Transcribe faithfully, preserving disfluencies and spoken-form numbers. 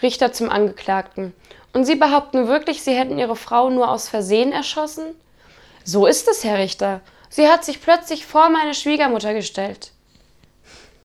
Richter zum Angeklagten. Und Sie behaupten wirklich, Sie hätten Ihre Frau nur aus Versehen erschossen? So ist es, Herr Richter. Sie hat sich plötzlich vor meine Schwiegermutter gestellt.